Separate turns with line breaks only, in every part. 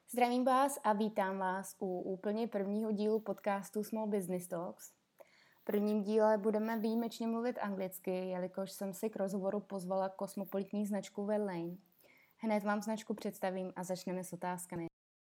Zdravím vás a vítám vás u úplně prvního dílu podcastu Small Business Talks. V prvním díle budeme výjimečně mluvit anglicky, jelikož jsem si k rozhovoru pozvala kosmopolitní značku Verlaine. Hned vám značku představím a začneme s otázkami.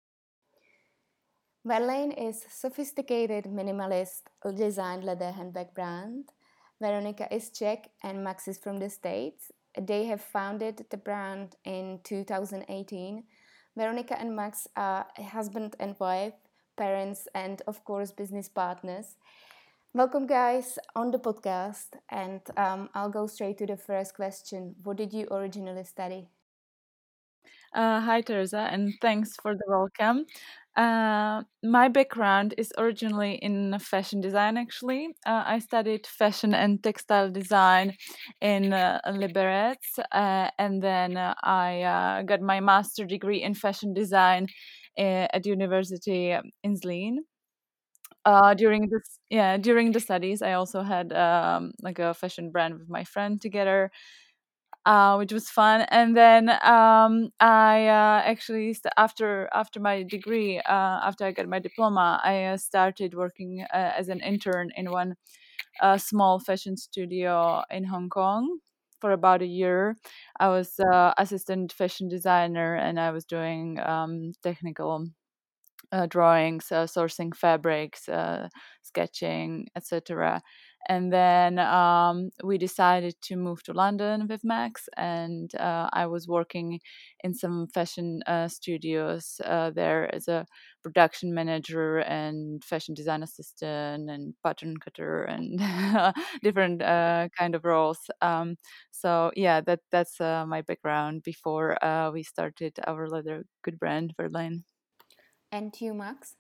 Verlaine is sophisticated minimalist designed leather handbag brand. Veronika is Czech and Max is from the States. They have founded the brand in 2018. Veronika and Max are a husband and wife, parents, and of course, business partners. Welcome, guys, on the podcast. And I'll go straight to the first question. What did you originally study?
Hi, Teresa, and thanks for the welcome. My background is originally in fashion design, actually. I studied fashion and textile design in Liberec, and then I got my master degree in fashion design at University in Zlín. During the studies, I also had like a fashion brand with my friend together, which was fun. And then I actually after my degree, after I got my diploma, I started working as an intern in one small fashion studio in Hong Kong for about a year. I was assistant fashion designer, and I was doing technical drawings, sourcing fabrics, sketching, etc. And then we decided to move to London with Max, and I was working in some fashion studios there as a production manager and fashion design assistant and pattern cutter and different kind of roles. So yeah, that's my background before we started our leather good brand, Verlaine.
And you, Max?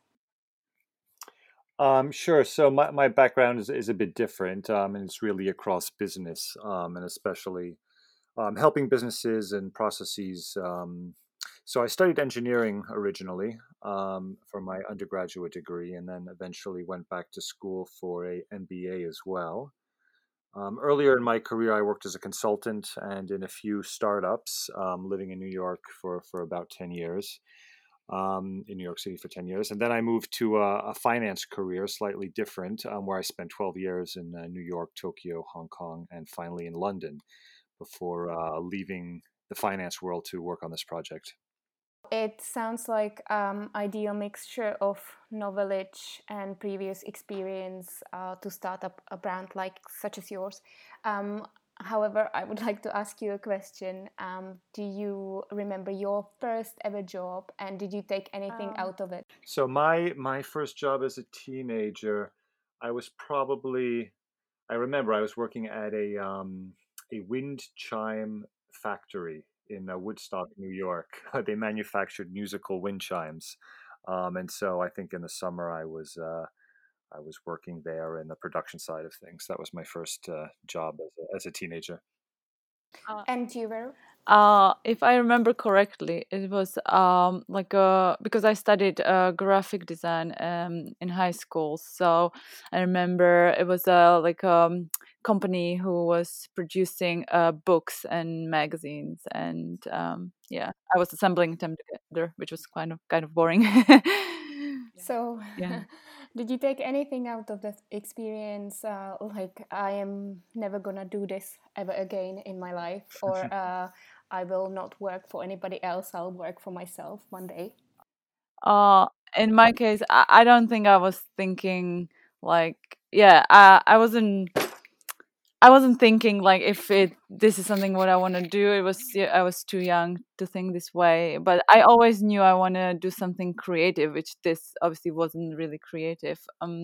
Sure. So my background is a bit different, and it's really across business, and especially helping businesses and processes. So I studied engineering originally for my undergraduate degree, and then eventually went back to school for a MBA as well. Earlier in my career, I worked as a consultant and in a few startups, living in New York for about 10 years, in New York City for 10 years. And then I moved to a finance career, slightly different, where I spent 12 years in New York, Tokyo, Hong Kong, and finally in London before leaving the finance world to work on this project.
It sounds like ideal mixture of knowledge and previous experience to start up a brand like such as yours. However, I would like to ask you a question. Do you remember your first ever job, and did you take anything out of it?
So my first job as a teenager, I was probably I remember I was working at a wind chime factory in Woodstock, New York. They manufactured musical wind chimes, and so I think in the summer I was working there in the production side of things. That was my first job as a teenager.
And you were?
If I remember correctly, it was like because I studied graphic design in high school, so I remember it was like company who was producing books and magazines, and yeah, I was assembling them together, which was kind of boring.
So,
Yeah.
did you take anything out of that experience? Like, I am never gonna do this ever again in my life, or I will not work for anybody else, I'll work for myself one day.
Uh, in my case, I don't think I was thinking like, yeah, I wasn't thinking like if this is something what I want to do. It was, yeah, I was too young to think this way, but I always knew I want to do something creative, which this obviously wasn't really creative.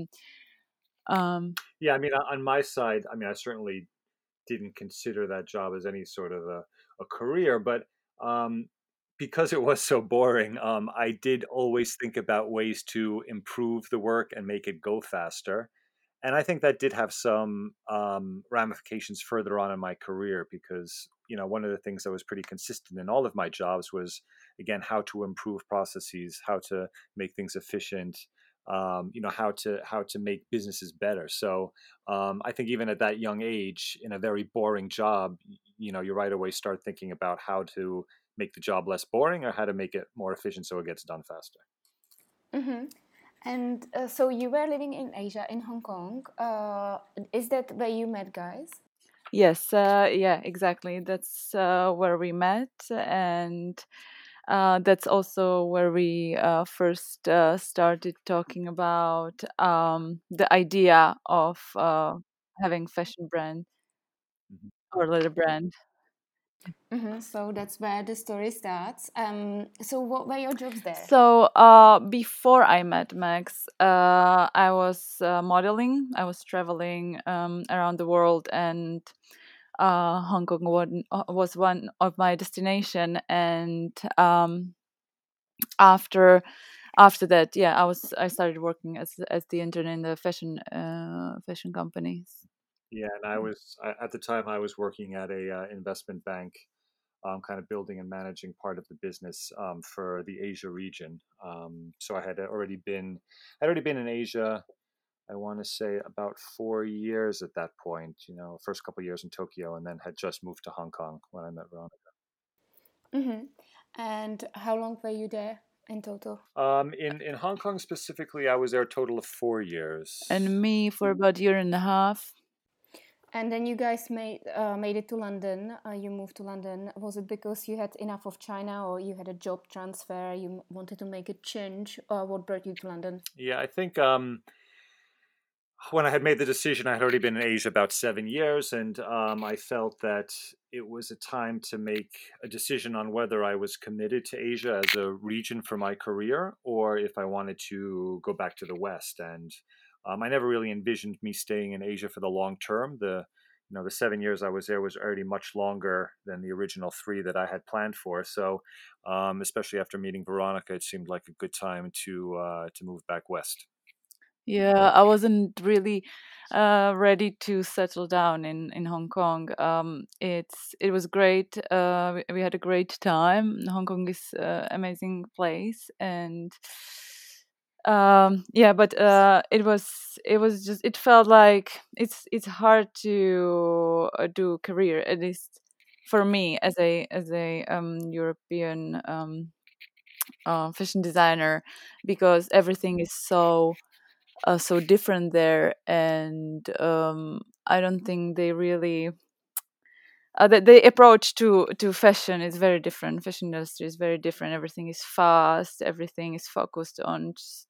Yeah, I mean, on my side, I mean, I certainly didn't consider that job as any sort of a career, but um, because it was so boring, I did always think about ways to improve the work and make it go faster. And I think that did have some ramifications further on in my career because, you know, one of the things that was pretty consistent in all of my jobs was, again, how to improve processes, how to make things efficient, you know, how to make businesses better. So I think even at that young age, in a very boring job, you know, you right away start thinking about how to make the job less boring or how to make it more efficient so it gets done faster.
Mm-hmm. And so you were living in Asia, in Hong Kong. Is that where you met guys?
Yes, yeah, exactly. That's where we met, and that's also where we first started talking about the idea of having fashion brand
Mhm.
or little brand.
Mm-hmm. So that's where the story starts. So what were your jobs there?
So before I met Max, I was modeling. I was traveling around the world, and Hong Kong was one of my destination. And after that, yeah, I started working as the intern in the fashion companies.
Yeah, and at the time I was working at a investment bank, kind of building and managing part of the business for the Asia region. So I'd already been in Asia. I want to say about 4 years at that point. First couple of years in Tokyo, and then had just moved to Hong Kong when I met Veronica.
Mm-hmm. And how long were you there in total?
In Hong Kong specifically, I was there a total of 4 years.
And me for about a year and a half.
And then you guys made it to London. You moved to London. Was it because you had enough of China, or you had a job transfer? You wanted to make a change, or what brought you to London?
Yeah, I think when I had made the decision, I had already been in Asia about 7 years, and I felt that it was a time to make a decision on whether I was committed to Asia as a region for my career, or if I wanted to go back to the West. And I never really envisioned me staying in Asia for the long term. The 7 years I was there was already much longer than the original 3 that I had planned for. So, especially after meeting Veronica, it seemed like a good time to move back west.
Yeah, I wasn't really ready to settle down in Hong Kong. It was great. We had a great time. Hong Kong is amazing place, and yeah, but it was just it felt like it's hard to do career, at least for me as a European fashion designer, because everything is so different there, and I don't think they really the approach to fashion is very different. Fashion industry is very different. Everything is fast, everything is focused on just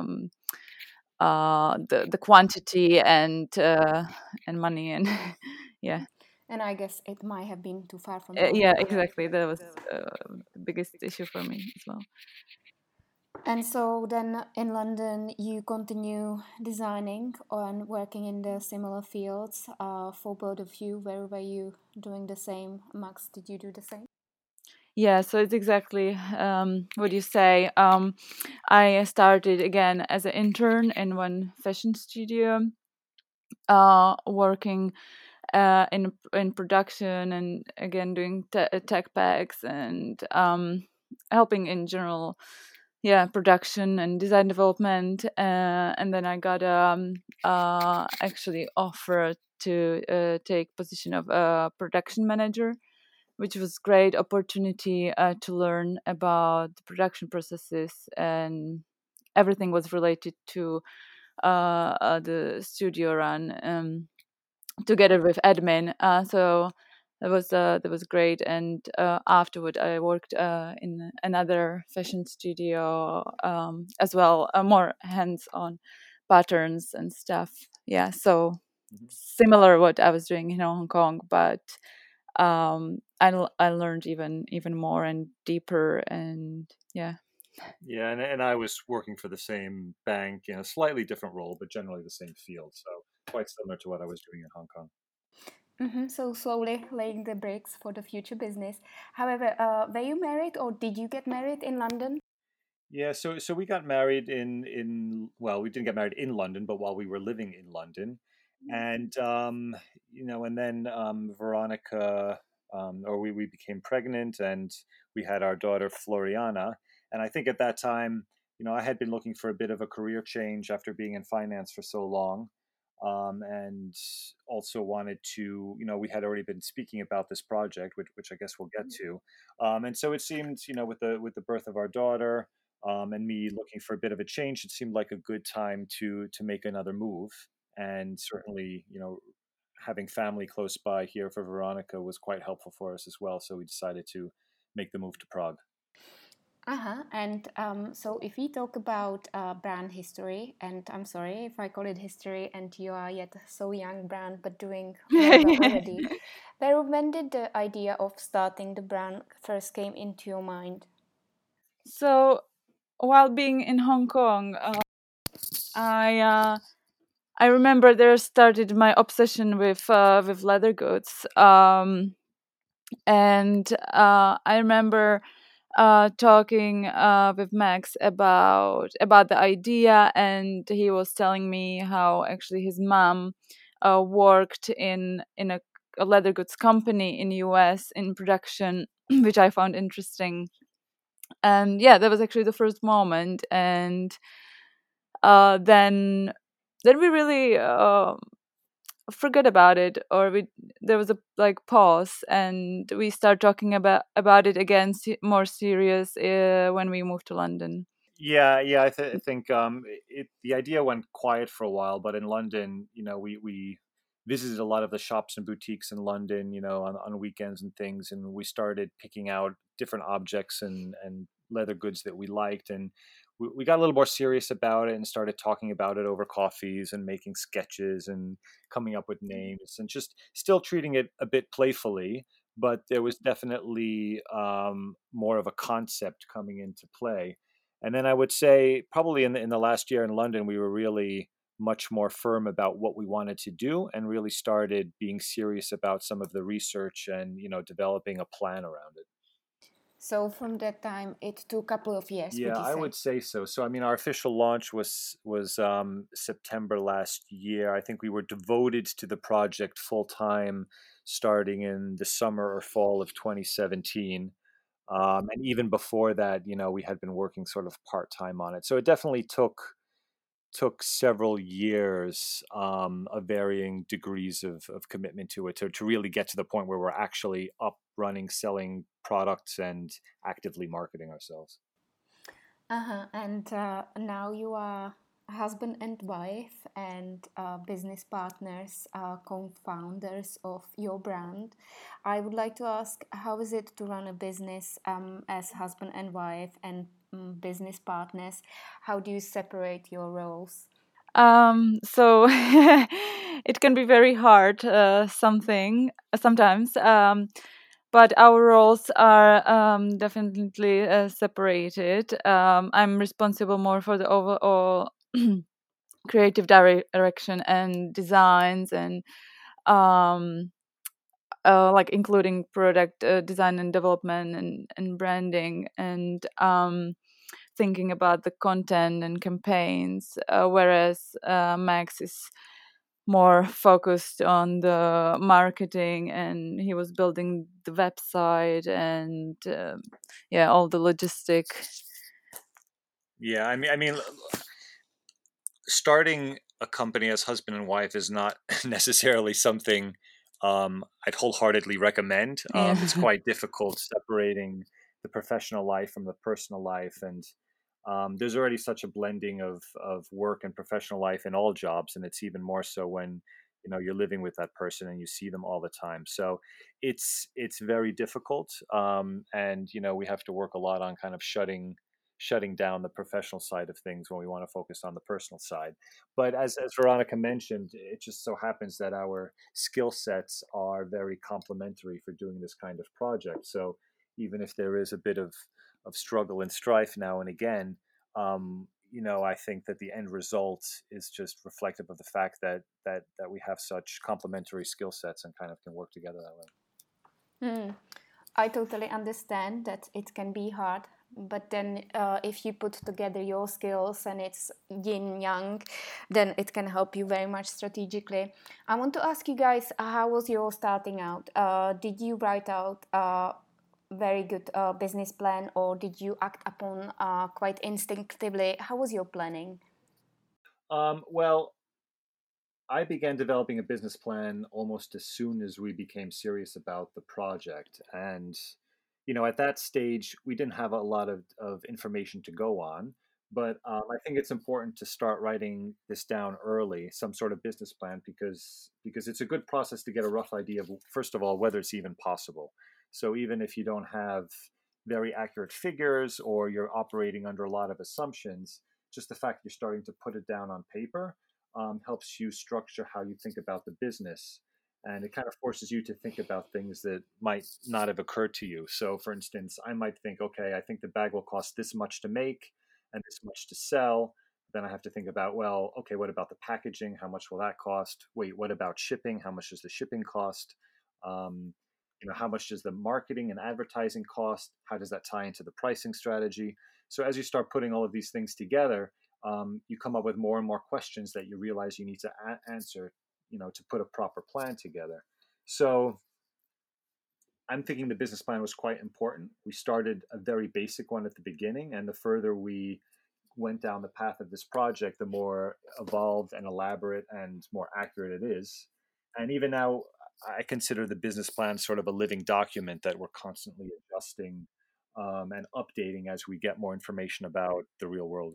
the quantity and money and yeah.
And I guess it might have been too far from home.
Yeah, exactly, that was the biggest issue for me as well.
And so then in London, you continue designing and working in the similar fields. For both of you, where were you doing the same? Max, did you do the same?
Yeah, so it's exactly what you say. I started again as an intern in one fashion studio, working in production, and again doing tech packs and helping in general, yeah, production and design development. And then I got actually offered to take position of a production manager, which was great opportunity to learn about the production processes, and everything was related to the studio run, together with admin. So that was great. And afterward, I worked in another fashion studio as well, more hands-on patterns and stuff. Yeah, so
Mhm.
similar what I was doing in Hong Kong, but I learned even more and deeper, and yeah.
Yeah, and I was working for the same bank in a slightly different role, but generally the same field. So quite similar to what I was doing in Hong Kong.
Mm-hmm. So slowly laying the bricks for the future business. However, were you married, or did you get married in London?
Yeah, so we got married in well, we didn't get married in London, but while we were living in London, and and then Veronica, or we became pregnant, and we had our daughter Floriana, and I think at that time, I had been looking for a bit of a career change after being in finance for so long. and also wanted to, we had already been speaking about this project, which I guess we'll get to, and so it seemed, with the birth of our daughter, and me looking for a bit of a change, it seemed like a good time to make another move, and certainly, having family close by here for Veronica was quite helpful for us as well. So we decided to make the move to Prague.
Uh-huh. And so if we talk about brand history, and I'm sorry if I call it history and you are yet so young brand, but doing very well already. Pero when did the idea of starting the brand first came into your mind?
So while being in Hong Kong, I remember there started my obsession with leather goods, and I remember talking with Max about the idea, and he was telling me how actually his mom worked in a leather goods company in US in production, which I found interesting. And yeah, that was actually the first moment, and then we really forget about it, or we there was a like pause, and we start talking about it again, more serious, when we moved to London.
Yeah. I think the idea went quiet for a while, but in London, we visited a lot of the shops and boutiques in London, on weekends and things, and we started picking out different objects and leather goods that we liked, and we got a little more serious about it and started talking about it over coffees and making sketches and coming up with names and just still treating it a bit playfully. But there was definitely more of a concept coming into play. And then I would say probably in the last year in London, we were really much more firm about what we wanted to do and really started being serious about some of the research and, developing a plan around it.
So from that time, it took a couple of years, would
Yeah,
you
I
say?
would say so. So I mean, our official launch was September last year. I think we were devoted to the project full time starting in the summer or fall of 2017. And even before that, we had been working sort of part time on it. So it definitely took several years of varying degrees of commitment to it to really get to the point where we're actually up running, selling products, and actively marketing ourselves.
Uh-huh. And now you are husband and wife and business partners, co-founders of your brand. I would like to ask, how is it to run a business as husband and wife and business partners? How do you separate your roles?
So it can be very hard, sometimes, but our roles are definitely separated. I'm responsible more for the overall creative direction and designs, and um, like including product design and development, and branding, and thinking about the content and campaigns, whereas Max is more focused on the marketing, and he was building the website, and yeah, all the logistic.
Yeah, I mean, starting a company as husband and wife is not necessarily something I'd wholeheartedly recommend. It's
Yeah.
quite difficult separating the professional life from the personal life, and there's already such a blending of work and professional life in all jobs, and it's even more so when you're living with that person and you see them all the time. So it's very difficult, and we have to work a lot on kind of shutting down the professional side of things when we want to focus on the personal side. But as Veronica mentioned, it just so happens that our skill sets are very complementary for doing this kind of project. So even if there is a bit of struggle and strife now and again, I think that the end result is just reflective of the fact that we have such complementary skill sets and kind of can work together that way.
Hmm. I totally understand that it can be hard, but then if you put together your skills and it's yin yang, then it can help you very much strategically. I want to ask you guys, how was your starting out? Did you write out a very good business plan, or did you act upon quite instinctively? How was your planning?
Well, I began developing a business plan almost as soon as we became serious about the project. And, at that stage, we didn't have a lot of information to go on. But I think it's important to start writing this down early, some sort of business plan, because it's a good process to get a rough idea of, first of all, whether it's even possible. So even if you don't have very accurate figures or you're operating under a lot of assumptions, just the fact you're starting to put it down on paper helps you structure how you think about the business. And it kind of forces you to think about things that might not have occurred to you. So, for instance, I might think, okay, I think the bag will cost this much to make and this much to sell. Then I have to think about, well, okay, what about the packaging? How much will that cost? Wait, what about shipping? How much does the shipping cost? Um, how much does the marketing and advertising cost? How does that tie into the pricing strategy? So as you start putting all of these things together, you come up with more and more questions that you realize you need to answer, to put a proper plan together. So I'm thinking the business plan was quite important. We started a very basic one at the beginning, and the further we went down the path of this project, the more evolved and elaborate and more accurate it is. And even now, I consider the business plan sort of a living document that we're constantly adjusting and updating as we get more information about the real world.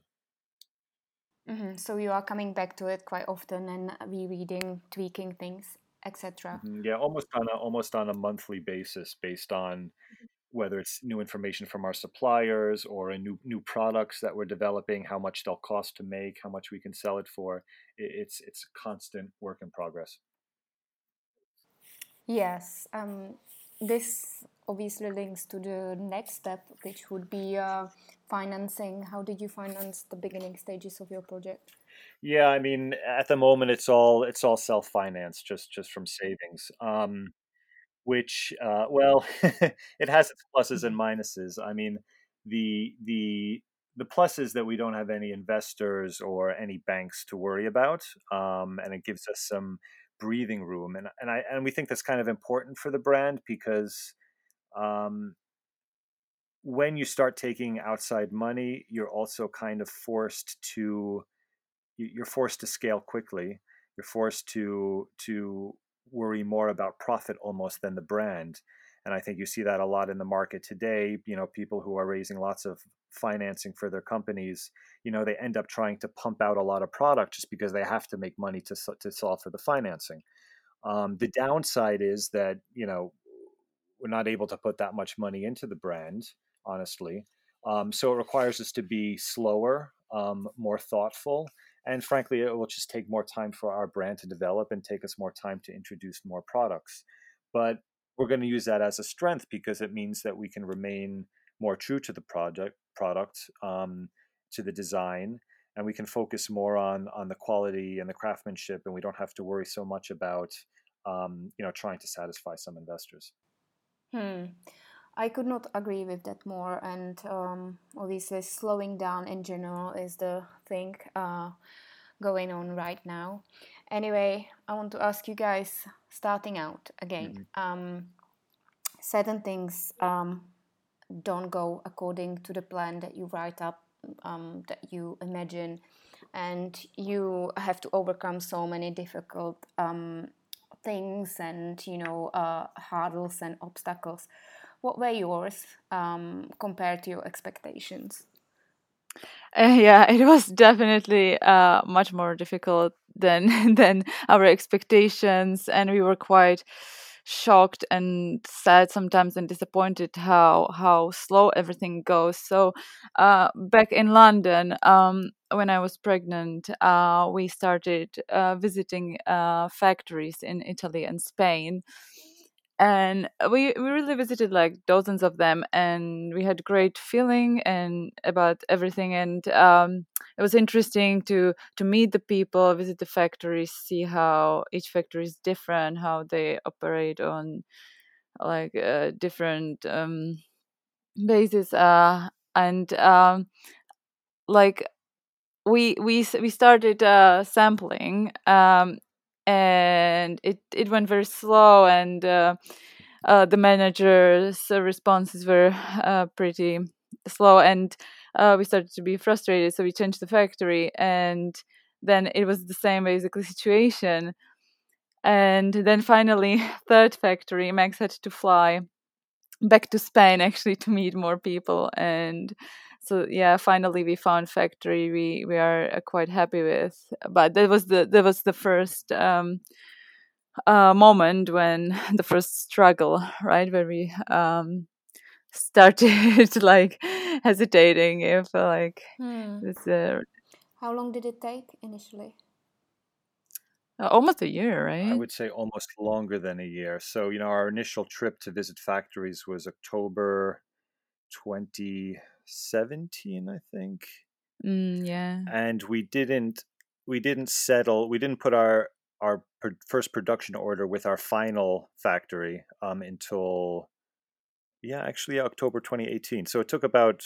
So you are coming back to it quite often and rereading, tweaking things, etc.
Yeah, almost on a monthly basis, based on whether it's new information from our suppliers or a new products that we're developing, how much they'll cost to make, how much we can sell it for. It's constant work in progress.
Yes, this obviously links to the next step, which would be financing. How did you finance the beginning stages of your project?
Yeah, I mean, at the moment, it's all self-financed, just from savings. Which, well, it has its pluses and minuses. I mean, the plus is that we don't have any investors or any banks to worry about, and it gives us some breathing room. And we think that's kind of important for the brand because um, when you start taking outside money, you're also kind of you're forced to scale quickly. You're forced to worry more about profit almost than the brand. And I think you see that a lot in the market today. People who are raising lots of financing for their companies, they end up trying to pump out a lot of product just because they have to make money to solve for the financing. The downside is that we're not able to put that much money into the brand, honestly. So it requires us to be slower, more thoughtful, and frankly, it will just take more time for our brand to develop and take us more time to introduce more products. But we're going to use that as a strength because it means that we can remain more true to the product, to the design, and we can focus more on the quality and the craftsmanship, and we don't have to worry so much about trying to satisfy some investors.
Hmm. I could not agree with that more. And obviously, slowing down in general is the thing going on right now. Anyway, I want to ask you guys, starting out again,
Mhm.
certain things don't go according to the plan that you write up, that you imagine, and you have to overcome so many difficult things and hurdles and obstacles. What were yours compared to your expectations?
Yeah, it was definitely much more difficult than than our expectations, and we were quite shocked and sad sometimes and disappointed how slow everything goes. So back in London, when I was pregnant, we started visiting factories in Italy and Spain, and we really visited like dozens of them, and we had great feeling and about everything. And it was interesting to meet the people, visit the factories, see how each factory is different, how they operate on like different basis, and like we started sampling, and it went very slow, and the manager's responses were pretty slow, and we started to be frustrated. So we changed the factory, and then it was the same basically situation. And then finally, third factory, Max had to fly back to Spain actually to meet more people. And so yeah, finally we found factory we are quite happy with. But that was the first moment when the first struggle, right, where we started like hesitating if like this
How long did it take initially?
almost a year,
I
right?
would say almost longer than a year. So, our initial trip to visit factories was October 2017, I think.
Yeah.
And we didn't put our first production order with our final factory until actually October 2018. So it took about,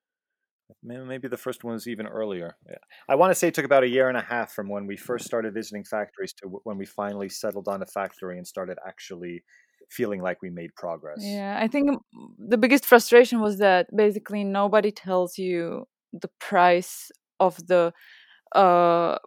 maybe the first one was even earlier. Yeah. I want to say it took about a year and a half from when we first started visiting factories to when we finally settled on a factory and started actually feeling like we made progress.
Yeah, I think the biggest frustration was that basically nobody tells you the price of uh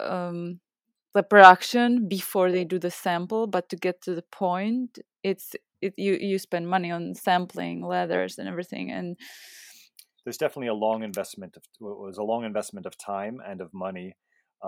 the production before they do the sample, but to get to the point, you spend money on sampling leathers and everything. And
there's definitely a long investment of time and of money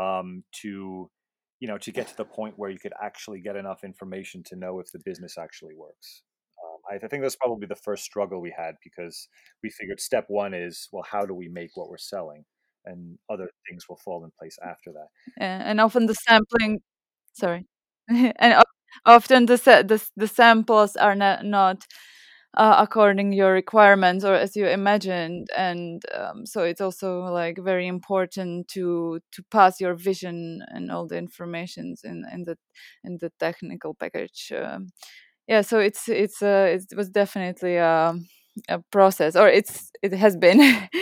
to to get to the point where you could actually get enough information to know if the business actually works. I think that's probably the first struggle we had, because we figured step one is, well, how do we make what we're selling, and other things will fall in place after that.
and often the sampling, sorry, and often the samples are not according your requirements or as you imagined. And so it's also like very important to pass your vision and all the informations in the technical package. Yeah, so it was definitely a process, or it has been.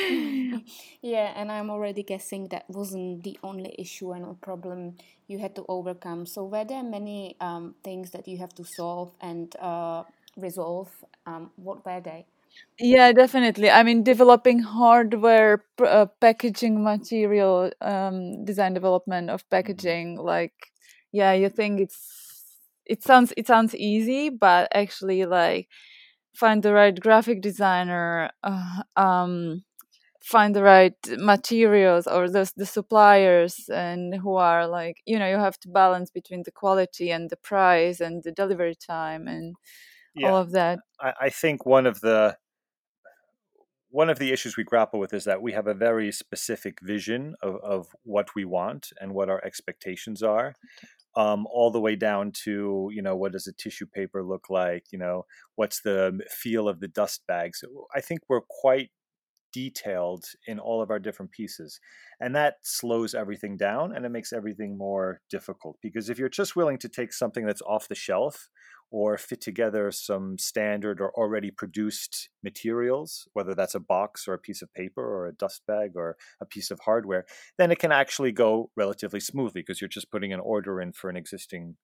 Yeah, and I'm already guessing that wasn't the only issue and a problem you had to overcome. So were there many things that you have to solve and resolve? What were they?
Yeah, definitely. I mean, developing hardware, packaging material, design development of packaging. Like, yeah, you think it sounds easy, but actually, like, find the right graphic designer, find the right materials or the suppliers, and who are like, you have to balance between the quality and the price and the delivery time and all
Yeah,
of that.
I think one of the issues we grapple with is that we have a very specific vision of what we want and what our expectations are, all the way down to, what does a tissue paper look like, what's the feel of the dust bags. I think we're quite detailed in all of our different pieces, and that slows everything down and it makes everything more difficult, because if you're just willing to take something that's off the shelf or fit together some standard or already produced materials, whether that's a box or a piece of paper or a dust bag or a piece of hardware, then it can actually go relatively smoothly, because you're just putting an order in for an existing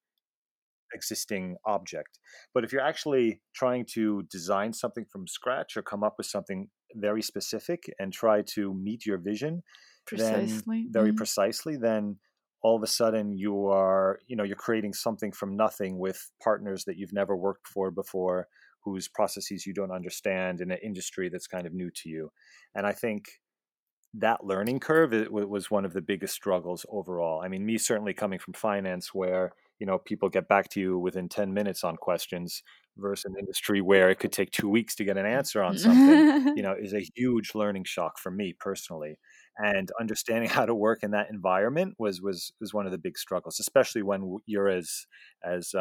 object. But if you're actually trying to design something from scratch or come up with something very specific and try to meet your vision, then
Precisely.
very precisely, then all of a sudden you're creating something from nothing with partners that you've never worked for before, whose processes you don't understand, in an industry that's kind of new to you. And I think that learning curve, was one of the biggest struggles overall. I mean, me certainly coming from finance, where people get back to you within 10 minutes on questions, versus an industry where it could take 2 weeks to get an answer on something, is a huge learning shock for me personally. And understanding how to work in that environment was one of the big struggles, especially when you're as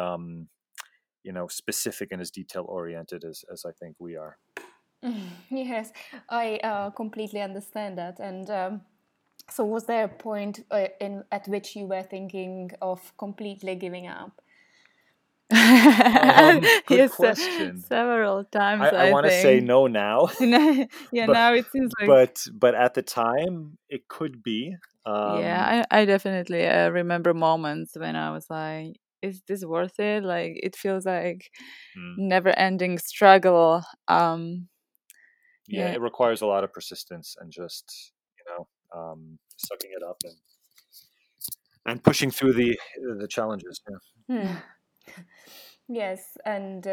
specific and as detail oriented as I think we are.
Yes, I completely understand that. And so, was there a point at which you were thinking of completely giving up?
Good
Yes,
question.
several times,
I
I
want to say
think.
no now,
Yeah,
but
now it seems like.
but at the time it could be.
Yeah, I definitely remember moments when I was like, is this worth it? Like, it feels like
Mm,
never-ending struggle.
yeah,
Yeah,
it requires a lot of persistence and just sucking it up. And and pushing through the challenges. Yeah.
Hmm. Yes, and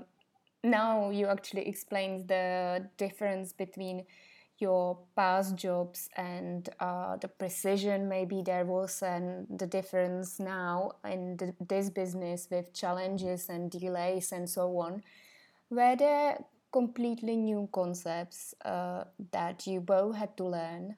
now you actually explained the difference between your past jobs and the precision maybe there was, and the difference now in this business with challenges and delays and so on. Were there completely new concepts that you both had to learn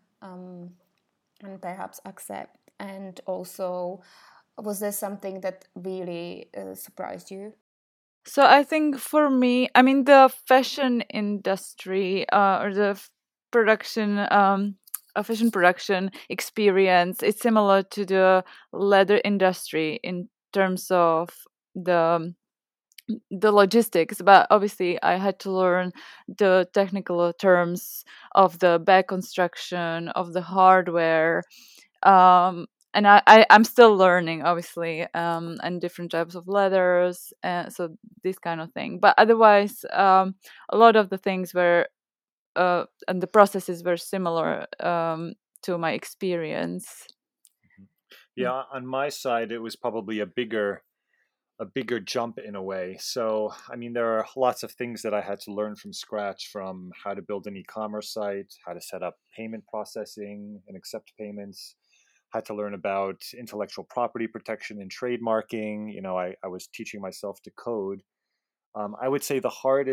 and perhaps accept? And also, was there something that really surprised you?
So I think for me, I mean, the fashion industry or the production, fashion production experience, it's similar to the leather industry in terms of the the logistics, but obviously I had to learn the technical terms of the bag construction, of the hardware, and I'm still learning, obviously, and different types of leathers, so this kind of thing. But otherwise, a lot of the things were and the processes were similar to my experience. Mm.
Yeah, on my side, it was probably a bigger jump in a way. So, I mean, there are lots of things that I had to learn from scratch, from how to build an e-commerce site, how to set up payment processing and accept payments. Had to learn about intellectual property protection and trademarking. I was teaching myself to code. I would say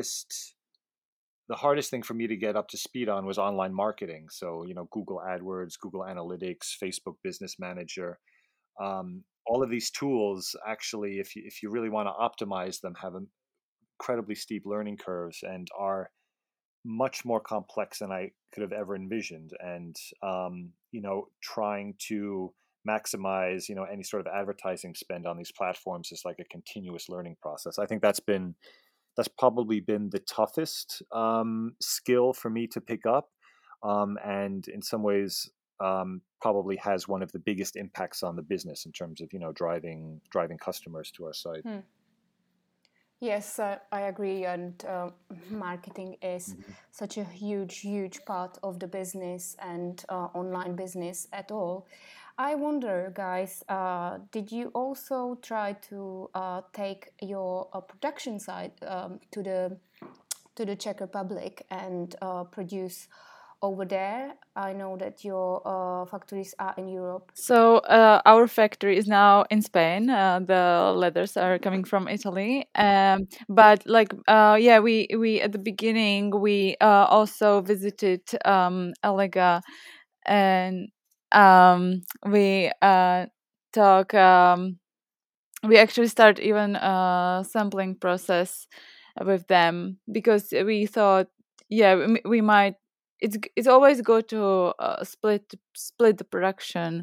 the hardest thing for me to get up to speed on was online marketing. So, Google AdWords, Google Analytics, Facebook Business Manager. All of these tools, actually, if you really want to optimize them, have incredibly steep learning curves and are much more complex than I could have ever envisioned. And trying to maximize any sort of advertising spend on these platforms is like a continuous learning process. I think that's probably been the toughest skill for me to pick up, and in some ways probably has one of the biggest impacts on the business in terms of driving customers to our site.
Hmm. Yes, I agree. And marketing is
Mhm.
such a huge, huge part of the business and online business at all. I wonder, guys, did you also try to take your production side to the Czech Republic and produce over there? I know that your factories are in Europe.
So our factory is now in Spain. The leathers are coming from Italy, but like yeah, we at the beginning we also visited Elega, and we talk. We actually start even sampling process with them because we thought, yeah, we might. It's always good to split the production,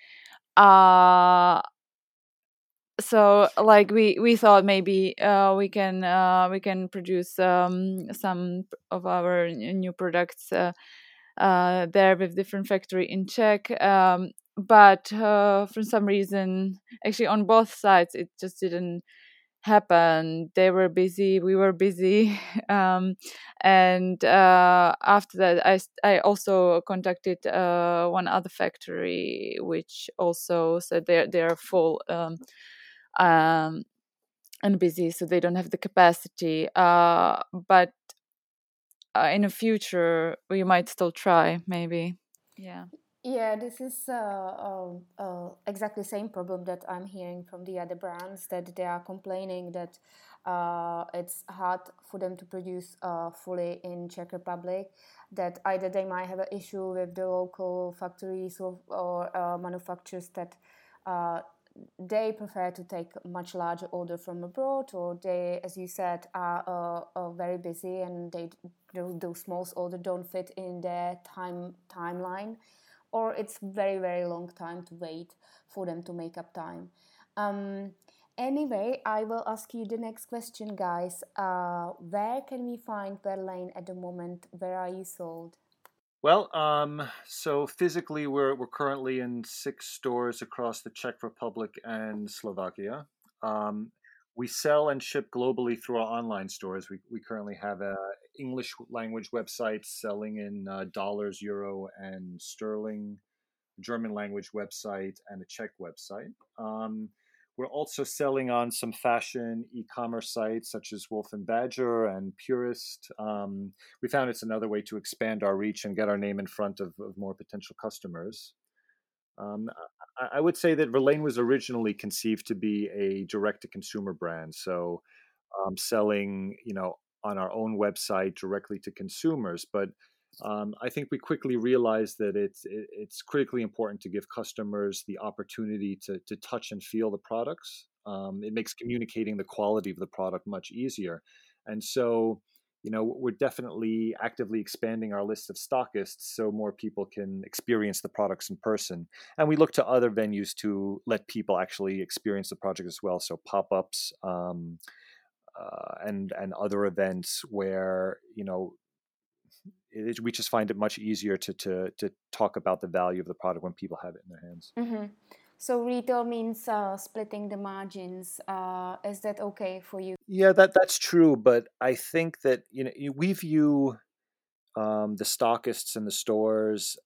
so like we thought maybe we can produce some of our new products there with different factory in Czech, but for some reason actually on both sides it just didn't happen. They were busy, we were busy, and after that I also contacted one other factory which also said they're full, um, and busy, so they don't have the capacity, but in the future we might still try, maybe. Yeah.
Yeah, this is exactly the same problem that I'm hearing from the other brands, that they are complaining that it's hard for them to produce fully in Czech Republic, that either they might have an issue with the local factories or manufacturers, that uh, they prefer to take much larger order from abroad, or they, as you said, are very busy and those small orders don't fit in their timeline, or it's very very long time to wait for them to make up time. um, anyway, I will ask you the next question, guys. Where can we find Berlin at the moment? Where are you sold?
Well, so physically, we're currently in 6 stores across the Czech Republic and Slovakia. Um, we sell and ship globally through our online stores. We currently have a English language website selling in dollars, euro, and sterling. German language website, and a Czech website. We're also selling on some fashion e-commerce sites such as Wolf and Badger and Purist. We found it's another way to expand our reach and get our name in front of more potential customers. Um, I would say that Verlaine was originally conceived to be a direct-to-consumer brand, so selling, on our own website directly to consumers. But I think we quickly realized that it's critically important to give customers the opportunity to touch and feel the products. It makes communicating the quality of the product much easier, and so. We're definitely actively expanding our list of stockists so more people can experience the products in person. And we look to other venues to let people actually experience the project as well. So pop-ups, and other events where we just find it much easier to talk about the value of the product when people have it in their hands.
Mm-hmm. So retail means splitting the margins. Is that okay for you?
Yeah, that's true, but I think that we view the stockists in the stores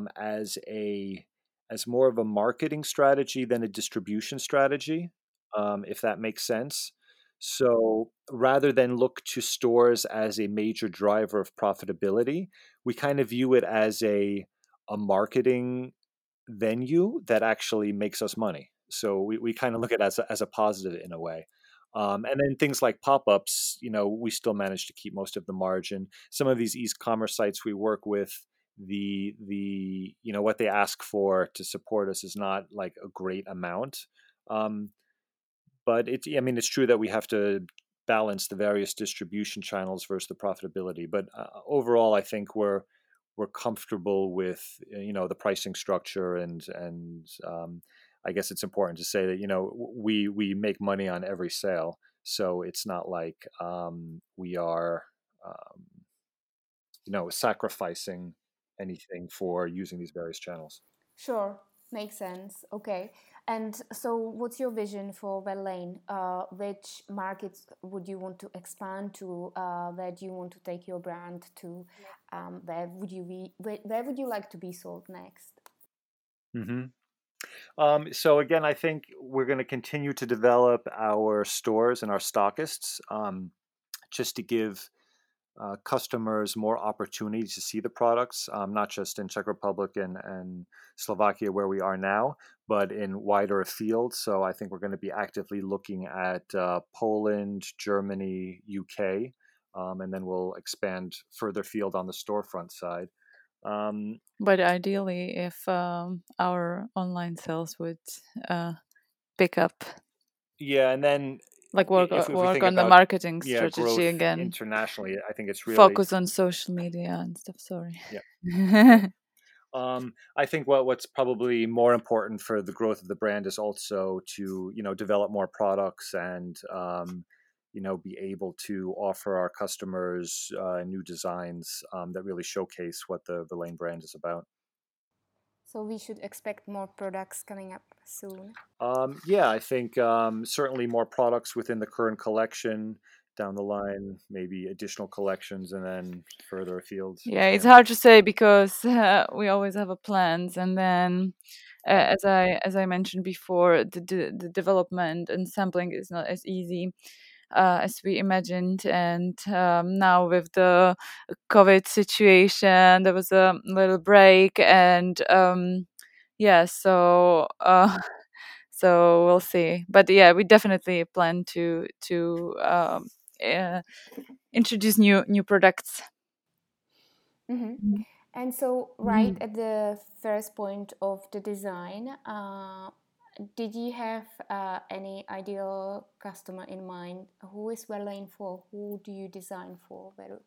as more of a marketing strategy than a distribution strategy, if that makes sense. So rather than look to stores as a major driver of profitability, we kind of view it as a marketing venue that actually makes us money. So we kind of look at it as a positive in a way. And then things like pop-ups, we still manage to keep most of the margin. Some of these e-commerce sites we work with, what they ask for to support us is not like a great amount. Um, but it's true that we have to balance the various distribution channels versus the profitability. But overall, I think we're comfortable with the pricing structure, and I guess it's important to say that we make money on every sale, so it's not like we are um, sacrificing anything for using these various channels.
Sure, makes sense. Okay. And so, what's your vision for Verlaine? Which markets would you want to expand to? Where do you want to take your brand to? Where would you like to be sold next?
Hmm. So again, I think we're going to continue to develop our stores and our stockists, just to give customers more opportunities to see the products, not just in Czech Republic and Slovakia where we are now, but in wider afield. So I think we're going to be actively looking at Poland, Germany, UK, and then we'll expand further field on the storefront side.
But ideally, if our online sales would pick up,
Yeah, and then
like
if we
work
think
on the
about
marketing strategy
growth
again,
internationally, I think it's really
focus on social media and stuff. Sorry.
yeah. I think what's probably more important for the growth of the brand is also to develop more products and be able to offer our customers new designs that really showcase what the Verlaine brand is about.
So we should expect more products coming up soon.
Yeah, I think certainly more products within the current collection down the line, maybe additional collections, and then further afield.
Yeah, it's
Yeah.
hard to say because we always have a plans, and then as I mentioned before, the development and sampling is not as easy as we imagined. And now with the COVID situation, there was a little break, and yeah, so so we'll see. But yeah, we definitely plan to uh, introduce new products.
Mm-hmm. And so, right at the first point of the design, did you have any ideal customer in mind? Who is Verlaine for? Who do you design for, Veru?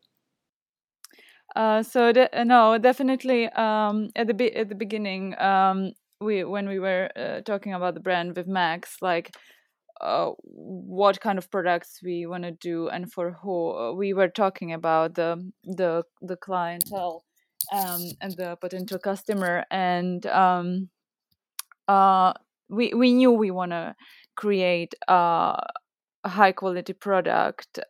No, definitely. At the beginning, we when we were talking about the brand with Max, like what kind of products we want to do and for who, we were talking about the clientele and the potential customer, and uh, we knew we want to create a high quality product.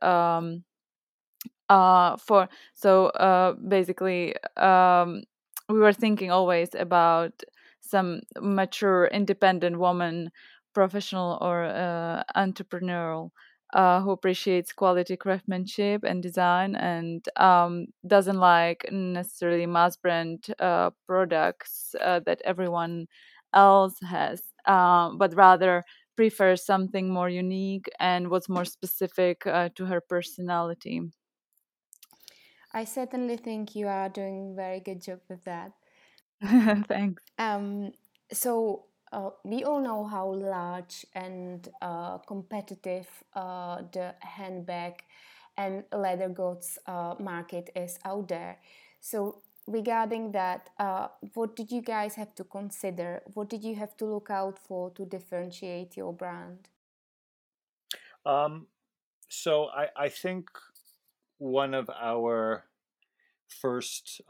For so basically we were thinking always about some mature, independent woman, professional or entrepreneurial, who appreciates quality craftsmanship and design, and doesn't like necessarily mass brand products that everyone else has, but rather prefers something more unique and what's more specific to her personality.
I certainly think you are doing a very good job with that.
Thanks.
Um, so we all know how large and competitive the handbag and leather goods market is out there. So regarding that, what did you guys have to consider? What did you have to look out for to differentiate your brand?
Um, so I think one of our first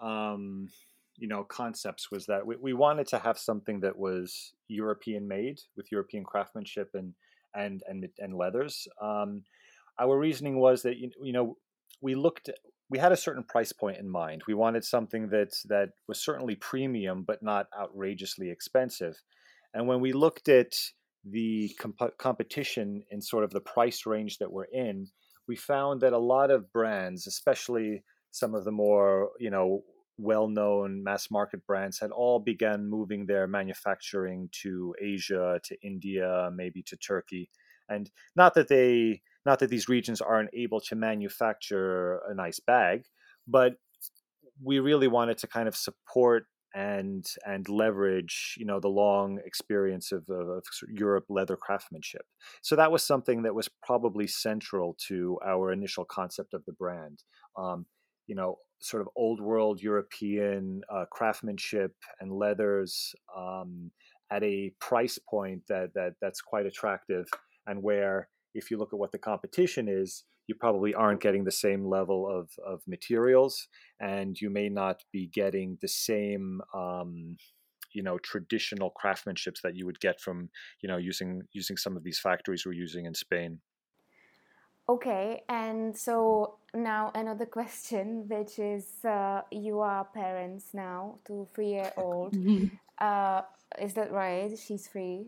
concepts was that we wanted to have something that was European made with European craftsmanship and leathers. Our reasoning was that we looked we had a certain price point in mind. We wanted something that was certainly premium but not outrageously expensive. And when we looked at the competition in sort of the price range that we're in, we found that a lot of brands, especially some of the more well-known mass market brands, had all begun moving their manufacturing to Asia, to India, maybe to Turkey. And not that these regions aren't able to manufacture a nice bag, but we really wanted to kind of support and leverage the long experience of Europe leather craftsmanship. So that was something that was probably central to our initial concept of the brand. Sort of old world European craftsmanship and leathers, at a price point that's quite attractive, and where if you look at what the competition is, you probably aren't getting the same level of materials, and you may not be getting the same traditional craftsmanships that you would get from using some of these factories we're using in Spain.
Okay, and so now another question, which is you are parents now to 3-year-old.
Mhm.
Uh, is that right? She's 3.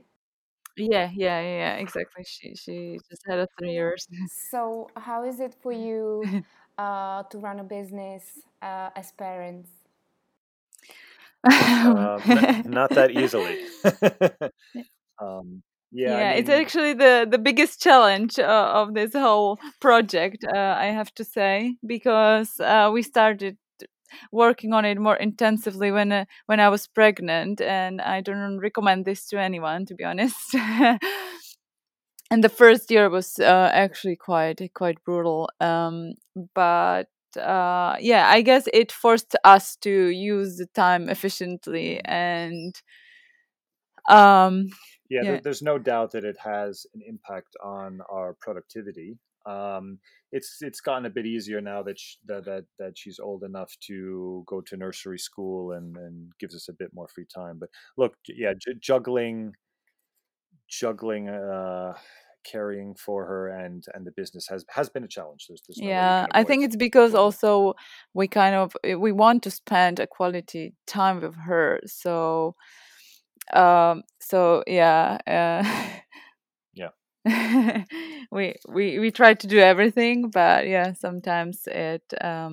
Yeah, exactly. She just had a 3 years.
So, how is it for you to run a business as parents?
Not that easily. um, yeah, I
Yeah, it's
mean,
actually the biggest challenge of this whole project, I have to say, because we started working on it more intensively when I was pregnant, and I don't recommend this to anyone, to be honest. And the first year was actually quite brutal, but yeah, I guess it forced us to use the time efficiently, and um,
yeah,
yeah.
there's no doubt that it has an impact on our productivity. Um, it's gotten a bit easier now that she's old enough to go to nursery school and gives us a bit more free time. But look, yeah, juggling carrying for her and the business has been a challenge. There's no way you
Yeah,
can
I think it's because
avoid that.
also we want to spend a quality time with her. So yeah,
Yeah.
we try to do everything, but yeah, sometimes it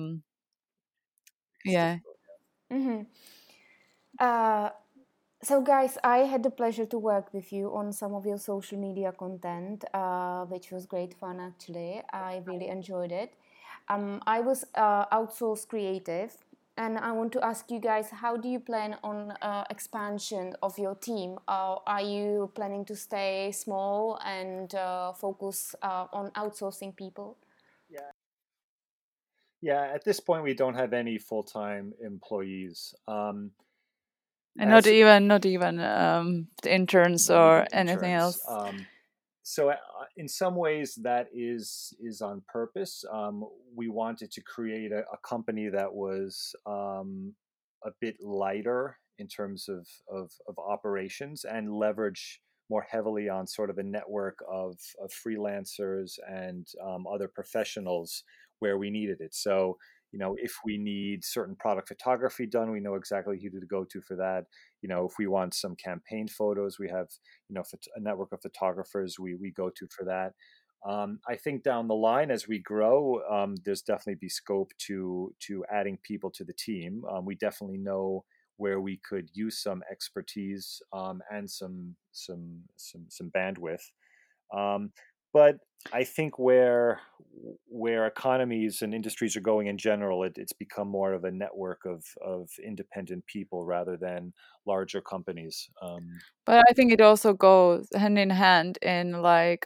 It's
yeah.
difficult.
Mm-hmm. Uh, so, guys, I had the pleasure to work with you on some of your social media content, which was great fun actually. I really enjoyed it. I was outsourced creative, and I want to ask you guys, how do you plan on expansion of your team? Are you planning to stay small and focus on outsourcing people?
Yeah. Yeah, at this point we don't have any full-time employees.
And
As
not even the interns
Not
or
even
anything
interns.
else.
So in some ways that is on purpose. We wanted to create a company that was a bit lighter in terms of operations, and leverage more heavily on sort of a network of freelancers and other professionals where we needed it. So if we need certain product photography done, we know exactly who to go to for that. If we want some campaign photos, we have a network of photographers we go to for that. I think down the line as we grow, there's definitely be scope to adding people to the team. We definitely know where we could use some expertise, and some bandwidth. Um, but I think where economies and industries are going in general, it's become more of a network of independent people rather than larger companies.
But I think it also goes hand in hand in like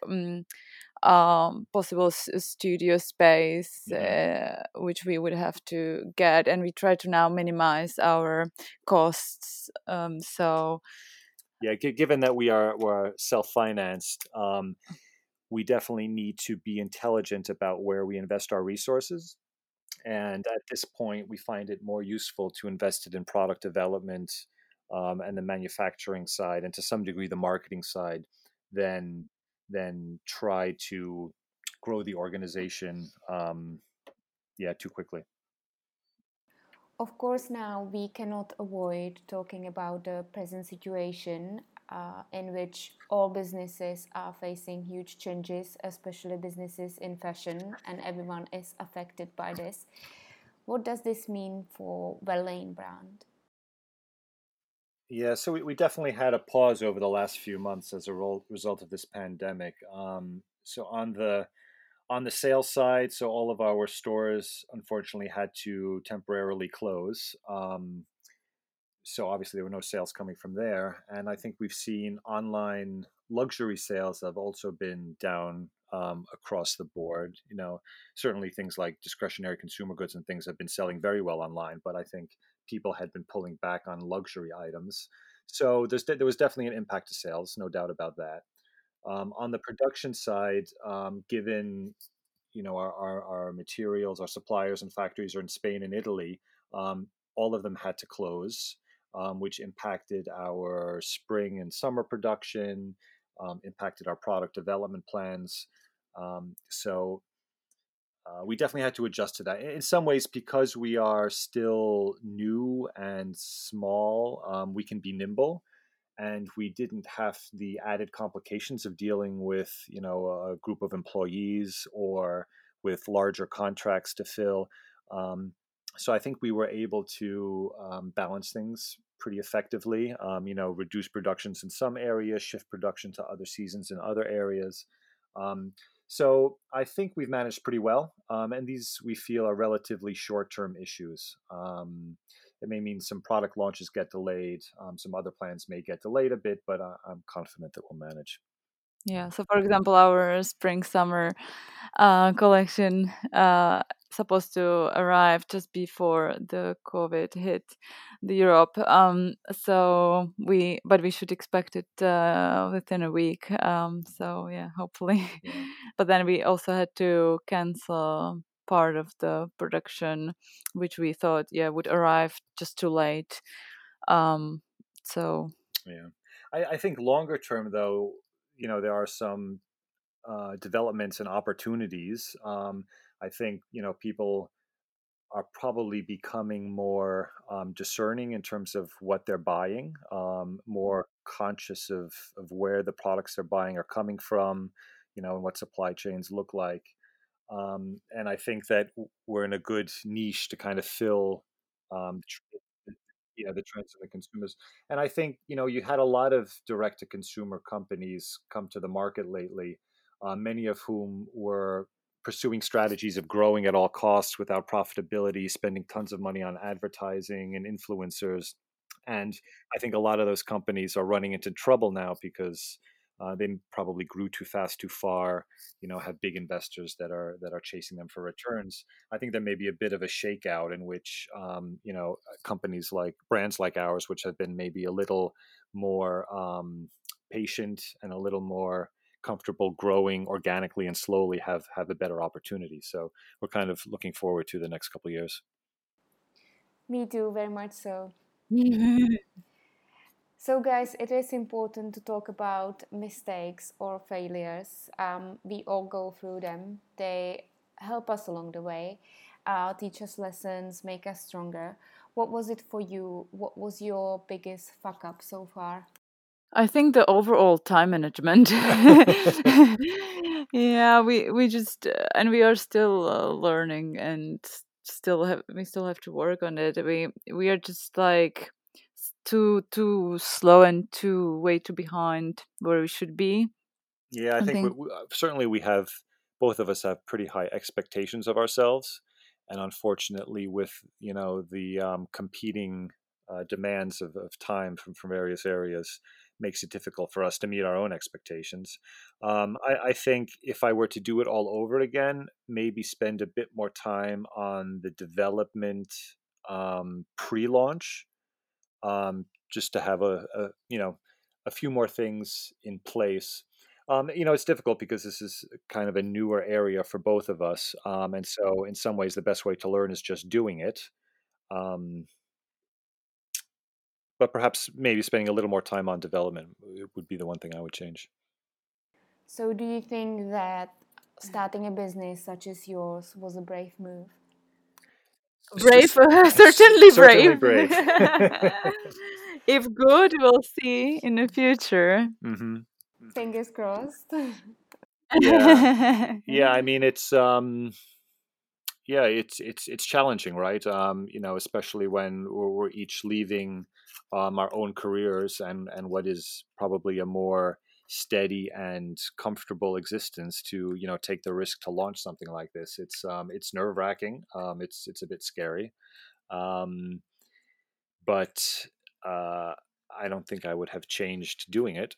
possible studio space,
Yeah.
which we would have to get, and we try to now minimize our costs. So
Yeah, given that we're self-financed, we definitely need to be intelligent about where we invest our resources. And at this point, we find it more useful to invest it in product development, and the manufacturing side, and to some degree the marketing side, than try to grow the organization, yeah, too quickly.
Of course, now we cannot avoid talking about the present situation in which all businesses are facing huge changes, especially businesses in fashion, and everyone is affected by this. What does this mean for Verlaine brand?
Yeah, so we definitely had a pause over the last few months as a result of this pandemic. So on the sales side, so all of our stores unfortunately had to temporarily close. So obviously there were no sales coming from there, and I think we've seen online luxury sales have also been down, across the board. Certainly things like discretionary consumer goods and things have been selling very well online, but I think people had been pulling back on luxury items. So there was definitely an impact to sales, no doubt about that. On the production side, given our materials, our suppliers and factories are in Spain and Italy, all of them had to close, which impacted our spring and summer production, impacted our product development plans. So we definitely had to adjust to that. In some ways, because we are still new and small, we can be nimble, and we didn't have the added complications of dealing with a group of employees or with larger contracts to fill. um, so I think we were able to balance things pretty effectively. Reduce productions in some areas, shift production to other seasons in other areas. um, so I think we've managed pretty well, and these we feel are relatively short-term issues. It may mean some product launches get delayed. Some other plans may get delayed a bit, but I'm confident that we'll manage.
yeah, so for example, our spring summer collection supposed to arrive just before the COVID hit the Europe. But we should expect it within a week. So yeah, hopefully.
Yeah.
But then we also had to cancel part of the production, which we thought would arrive just too late. So
Yeah. I think longer term, though, there are some developments and opportunities. I think people are probably becoming more discerning in terms of what they're buying, more conscious of where the products they're buying are coming from, and what supply chains look like. And I think that we're in a good niche to kind of fill, the trends of the consumers. And I think you had a lot of direct to consumer companies come to the market lately, many of whom were pursuing strategies of growing at all costs without profitability, spending tons of money on advertising and influencers. And I think a lot of those companies are running into trouble now because they probably grew too fast, too far. Have big investors that are chasing them for returns. I think there may be a bit of a shakeout in which companies like brands like ours, which have been maybe a little more patient and a little more comfortable growing organically and slowly, have a better opportunity. So we're kind of looking forward to the next couple of years.
Me too, very much so. So, guys, it is important to talk about mistakes or failures. We all go through them. They help us along the way, teach us lessons, make us stronger. What was it for you? What was your biggest fuck up so far?
I think the overall time management. Yeah, we just and we are still learning and still have to work on it. We are just like too slow and too way too behind where we should be.
Yeah, I
I
think
think.
certainly we have, both of us have pretty high expectations of ourselves, and unfortunately, with the competing demands of time from various areas, makes it difficult for us to meet our own expectations. I think if I were to do it all over again, maybe spend a bit more time on the development pre-launch, just to have a few more things in place. It's difficult because this is kind of a newer area for both of us, and so in some ways the best way to learn is just doing it. Um, but perhaps maybe spending a little more time on development would be the one thing I would change.
So, do you think that starting a business such as yours was a brave move?
Brave, certainly
Certainly
brave.
brave.
If good, we'll see in the future.
Hmm.
Fingers crossed.
Yeah, yeah. I mean, it's challenging, right? Especially when we're each leaving our own careers and what is probably a more steady and comfortable existence to take the risk to launch something like this. It's nerve wracking. It's a bit scary, um, but uh, I don't think I would have changed doing it.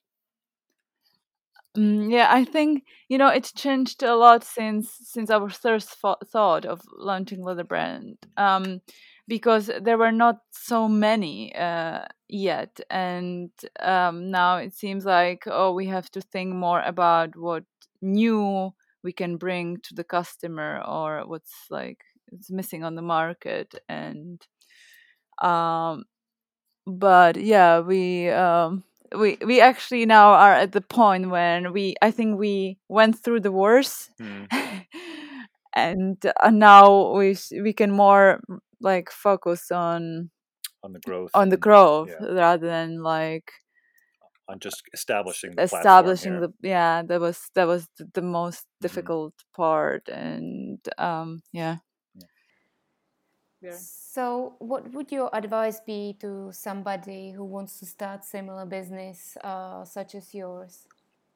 Yeah, I think it's changed a lot since our first thought of launching leather brand, because there were not so many yet, and now it seems like, oh, we have to think more about what new we can bring to the customer or what's like it's missing on the market, and um, but yeah, we actually now are at the point when I think we went through the worst,
Mm,
and now we can more like focus
on the growth
on the
and
growth
yeah,
rather than like
on just establishing the platform
establishing
here.
the yeah, that was the most
Hmm.
difficult part, and yeah. Yeah.
So, what would your advice be to somebody who wants to start similar business such as yours?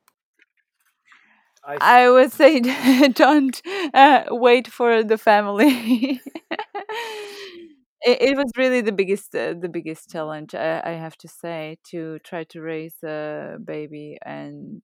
I
I would say don't wait for the family. It was really the biggest challenge, I have to say, to try to raise a baby and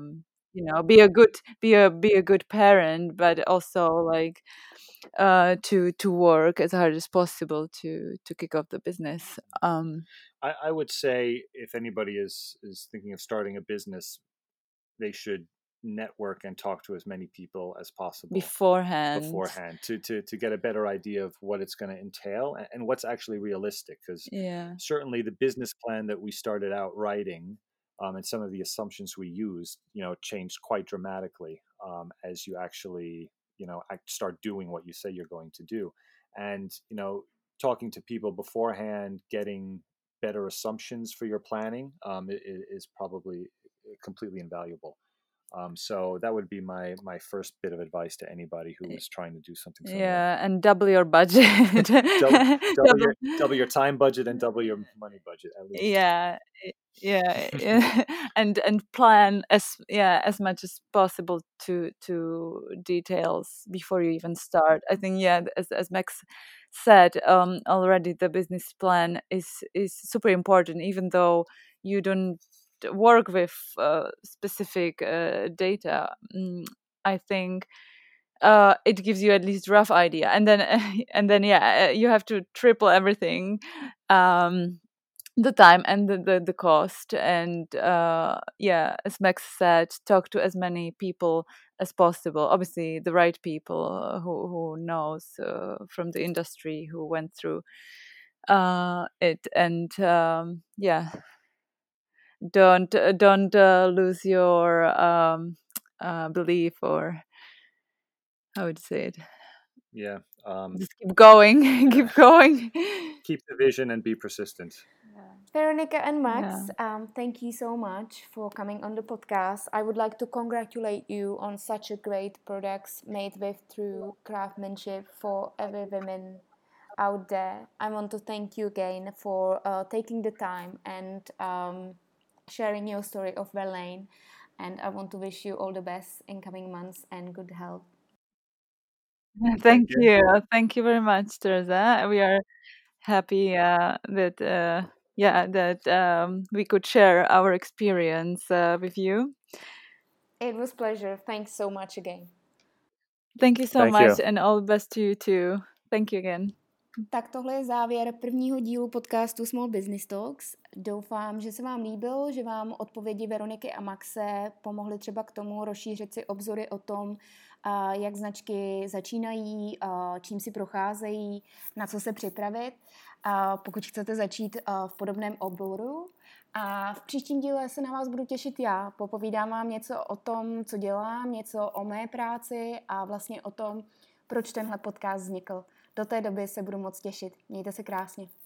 be a good parent, but also like to work as hard as possible to kick off the business
I would say if anybody is thinking of starting a business, they should network and talk to as many people as possible
beforehand.
beforehand to get a better idea of what it's going to entail and what's actually realistic. Because
Yeah.
certainly the business plan that we started out writing, and some of the assumptions we used, changed quite dramatically as you actually, start doing what you say you're going to do. And, talking to people beforehand, getting better assumptions for your planning is probably completely invaluable. So that would be my first bit of advice to anybody who was trying to do something similar.
Yeah, and double your budget.
Double your time budget and double your money budget at least.
Yeah, yeah, yeah. And plan as much as possible to details before you even start. I think, yeah, as Max said already, the business plan is super important, even though you don't work with specific data. I think it gives you at least rough idea, and then yeah, you have to triple everything, um the time and the cost, and yeah, as Max said, talk to as many people as possible, obviously the right people, who knows from the industry, who went through it, and yeah, don't lose your belief, or how would you say it.
Yeah,
Just keep going, keep going.
Keep the vision and be persistent.
Veronica and Max, thank you so much for coming on the podcast. I would like to congratulate you on such a great products made with true craftsmanship for every woman out there. I want to thank you again for taking the time and sharing your story of Verlaine. And I want to wish you all the best in coming months and good health.
Thank you. Thank you very much, Teresa. We are happy that we could share our experience with you.
It was a pleasure. Thanks so much again.
Thank you so
Thank
much
you.
and all the best to you too. Thank you again.
Tak tohle je závěr prvního dílu podcastu Small Business Talks. Doufám, že se vám líbil, že vám odpovědi Veroniky a Maxe pomohly třeba k tomu rozšířit si obzory o tom, jak značky začínají, čím si procházejí, na co se připravit, pokud chcete začít v podobném oboru. A v příštím díle se na vás budu těšit já. Popovídám vám něco o tom, co dělám, něco o mé práci a vlastně o tom, proč tenhle podcast vznikl. Do té doby se budu moc těšit. Mějte se krásně.